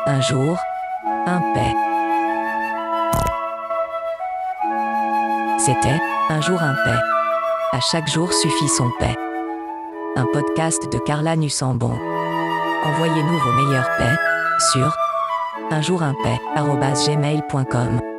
Un jour, un paix. C'était Un jour un paix. À chaque jour suffit son paix. Un podcast de Carla Nussambon. Envoyez-nous vos meilleures paix sur unjourunpaix@gmail.com.